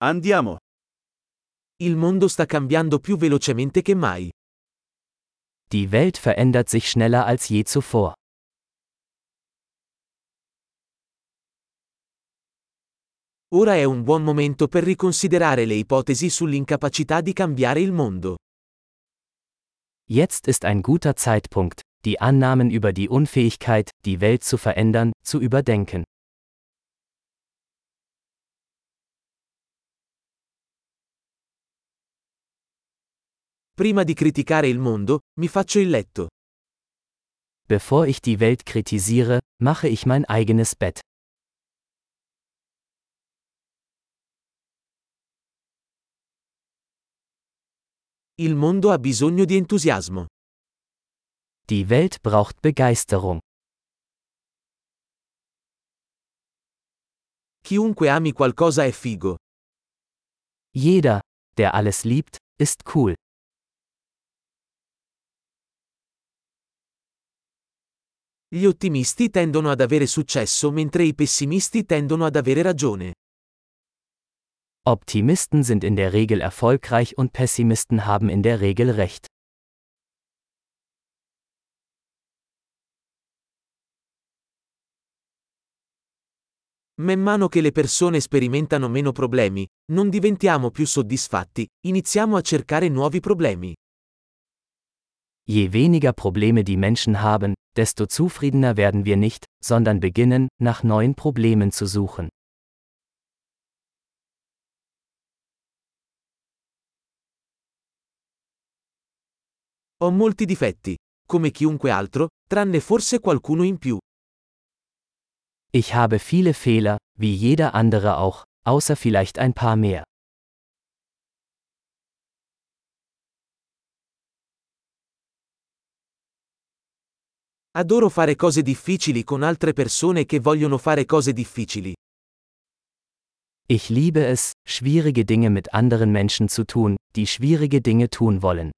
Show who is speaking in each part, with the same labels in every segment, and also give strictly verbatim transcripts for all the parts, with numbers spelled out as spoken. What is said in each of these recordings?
Speaker 1: Andiamo.
Speaker 2: Il mondo sta cambiando più velocemente che mai.
Speaker 3: Die Welt verändert sich schneller als je zuvor.
Speaker 2: Ora è un buon momento per riconsiderare le ipotesi sull'incapacità di cambiare il mondo.
Speaker 3: Jetzt ist ein guter Zeitpunkt, die Annahmen über die Unfähigkeit, die Welt zu verändern, zu überdenken.
Speaker 2: Prima di criticare il mondo, mi faccio il letto.
Speaker 3: Bevor ich die Welt kritisiere, mache ich mein eigenes Bett.
Speaker 2: Il mondo ha bisogno di entusiasmo.
Speaker 3: Die Welt braucht Begeisterung.
Speaker 2: Chiunque ami qualcosa è figo.
Speaker 3: Jeder, der alles liebt, ist cool.
Speaker 2: Gli ottimisti tendono ad avere successo mentre i pessimisti tendono ad avere ragione.
Speaker 3: Optimisten sind in der Regel erfolgreich und Pessimisten haben in der Regel recht.
Speaker 2: Man mano che le persone sperimentano meno problemi, non diventiamo più soddisfatti, iniziamo a cercare nuovi problemi.
Speaker 3: Je weniger Probleme die Menschen haben, desto zufriedener werden wir nicht, sondern beginnen, nach neuen Problemen zu suchen.
Speaker 2: Ho molti difetti, come chiunque altro, tranne forse qualcuno in più.
Speaker 3: Ich habe viele Fehler, wie jeder andere auch, außer vielleicht ein paar mehr.
Speaker 2: Adoro fare cose difficili con altre persone che vogliono fare cose difficili.
Speaker 3: Ich liebe es, schwierige Dinge mit anderen Menschen zu tun, die schwierige Dinge tun wollen.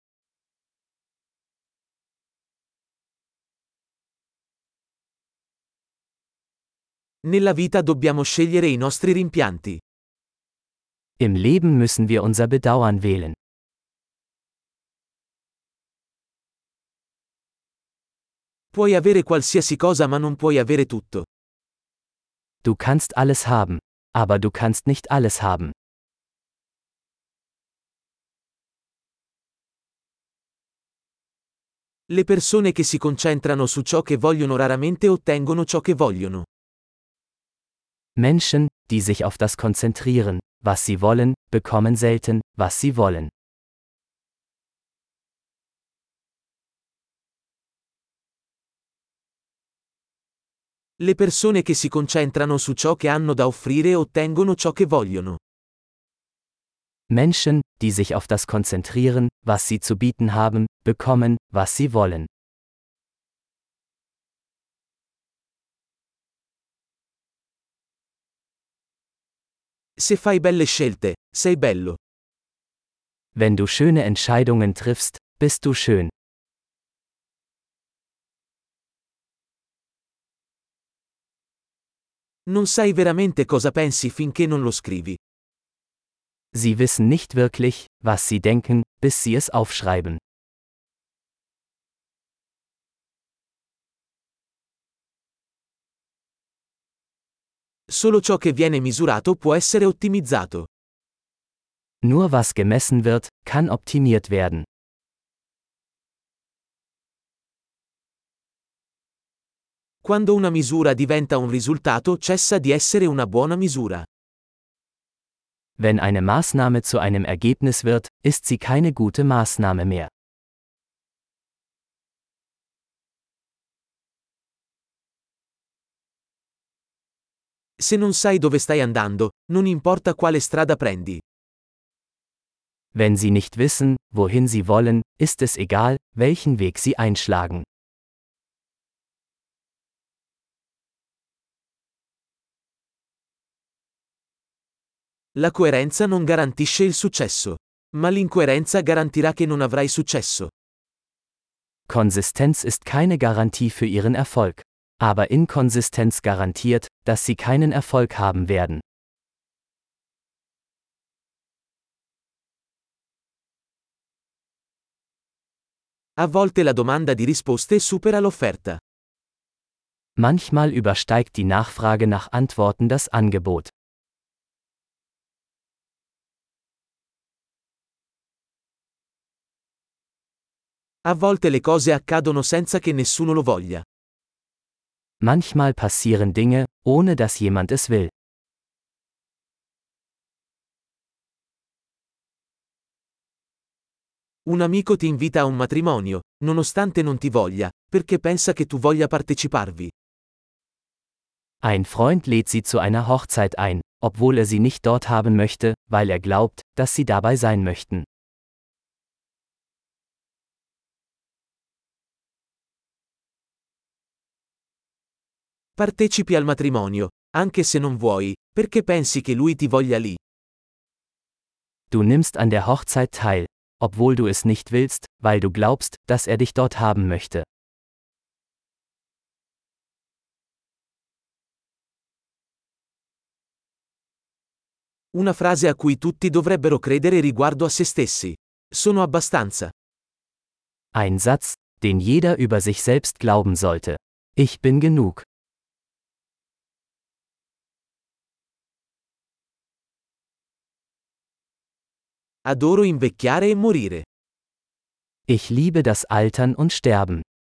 Speaker 2: Nella vita dobbiamo scegliere i nostri rimpianti.
Speaker 3: Im Leben müssen wir unser Bedauern wählen.
Speaker 2: Puoi avere qualsiasi cosa ma non puoi avere tutto.
Speaker 3: Du kannst alles haben, aber du kannst nicht alles haben.
Speaker 2: Le persone che si concentrano su ciò che vogliono raramente ottengono ciò che vogliono.
Speaker 3: Menschen, die sich auf das konzentrieren, was sie wollen, bekommen selten, was sie wollen.
Speaker 2: Le persone che si concentrano su ciò che hanno da offrire ottengono ciò che vogliono.
Speaker 3: Menschen, die sich auf das konzentrieren, was sie zu bieten haben, bekommen, was sie wollen.
Speaker 2: Se fai belle scelte, sei bello.
Speaker 3: Wenn du schöne Entscheidungen triffst, bist du schön.
Speaker 2: Non sai veramente cosa pensi finché non lo scrivi.
Speaker 3: Sie wissen nicht wirklich, was sie denken, bis sie es aufschreiben.
Speaker 2: Solo ciò che viene misurato può essere ottimizzato.
Speaker 3: Nur was gemessen wird, kann optimiert werden.
Speaker 2: Quando una misura diventa un risultato cessa di essere una buona misura.
Speaker 3: Wenn eine Maßnahme zu einem Ergebnis wird, ist sie keine gute Maßnahme mehr.
Speaker 2: Se non sai dove stai andando, non importa quale strada prendi.
Speaker 3: Wenn sie nicht wissen, wohin sie wollen, ist es egal, welchen Weg sie einschlagen.
Speaker 2: La coerenza non garantisce il successo, ma l'incoerenza garantirà che non avrai successo.
Speaker 3: Konsistenz ist keine Garantie für ihren Erfolg. Aber Inkonsistenz garantiert, dass sie keinen Erfolg haben werden.
Speaker 2: A volte la domanda di risposte supera l'offerta.
Speaker 3: Manchmal übersteigt die Nachfrage nach Antworten das Angebot.
Speaker 2: A volte le cose accadono senza che nessuno lo voglia.
Speaker 3: Manchmal passieren Dinge, ohne dass jemand es will.
Speaker 2: Un amico ti invita a un matrimonio, nonostante non ti voglia, perché pensa che tu voglia parteciparvi.
Speaker 3: Ein Freund lädt sie zu einer Hochzeit ein, obwohl er sie nicht dort haben möchte, weil er glaubt, dass sie dabei sein möchten.
Speaker 2: Partecipi al matrimonio, anche se non vuoi, perché pensi che lui ti voglia lì.
Speaker 3: Du nimmst an der Hochzeit teil, obwohl du es nicht willst, weil du glaubst, dass er dich dort haben möchte.
Speaker 2: Una frase a cui tutti dovrebbero credere riguardo a se stessi. Sono abbastanza.
Speaker 3: Ein Satz, den jeder über sich selbst glauben sollte. Ich bin genug.
Speaker 2: Adoro invecchiare e morire.
Speaker 3: Ich liebe das Altern und Sterben.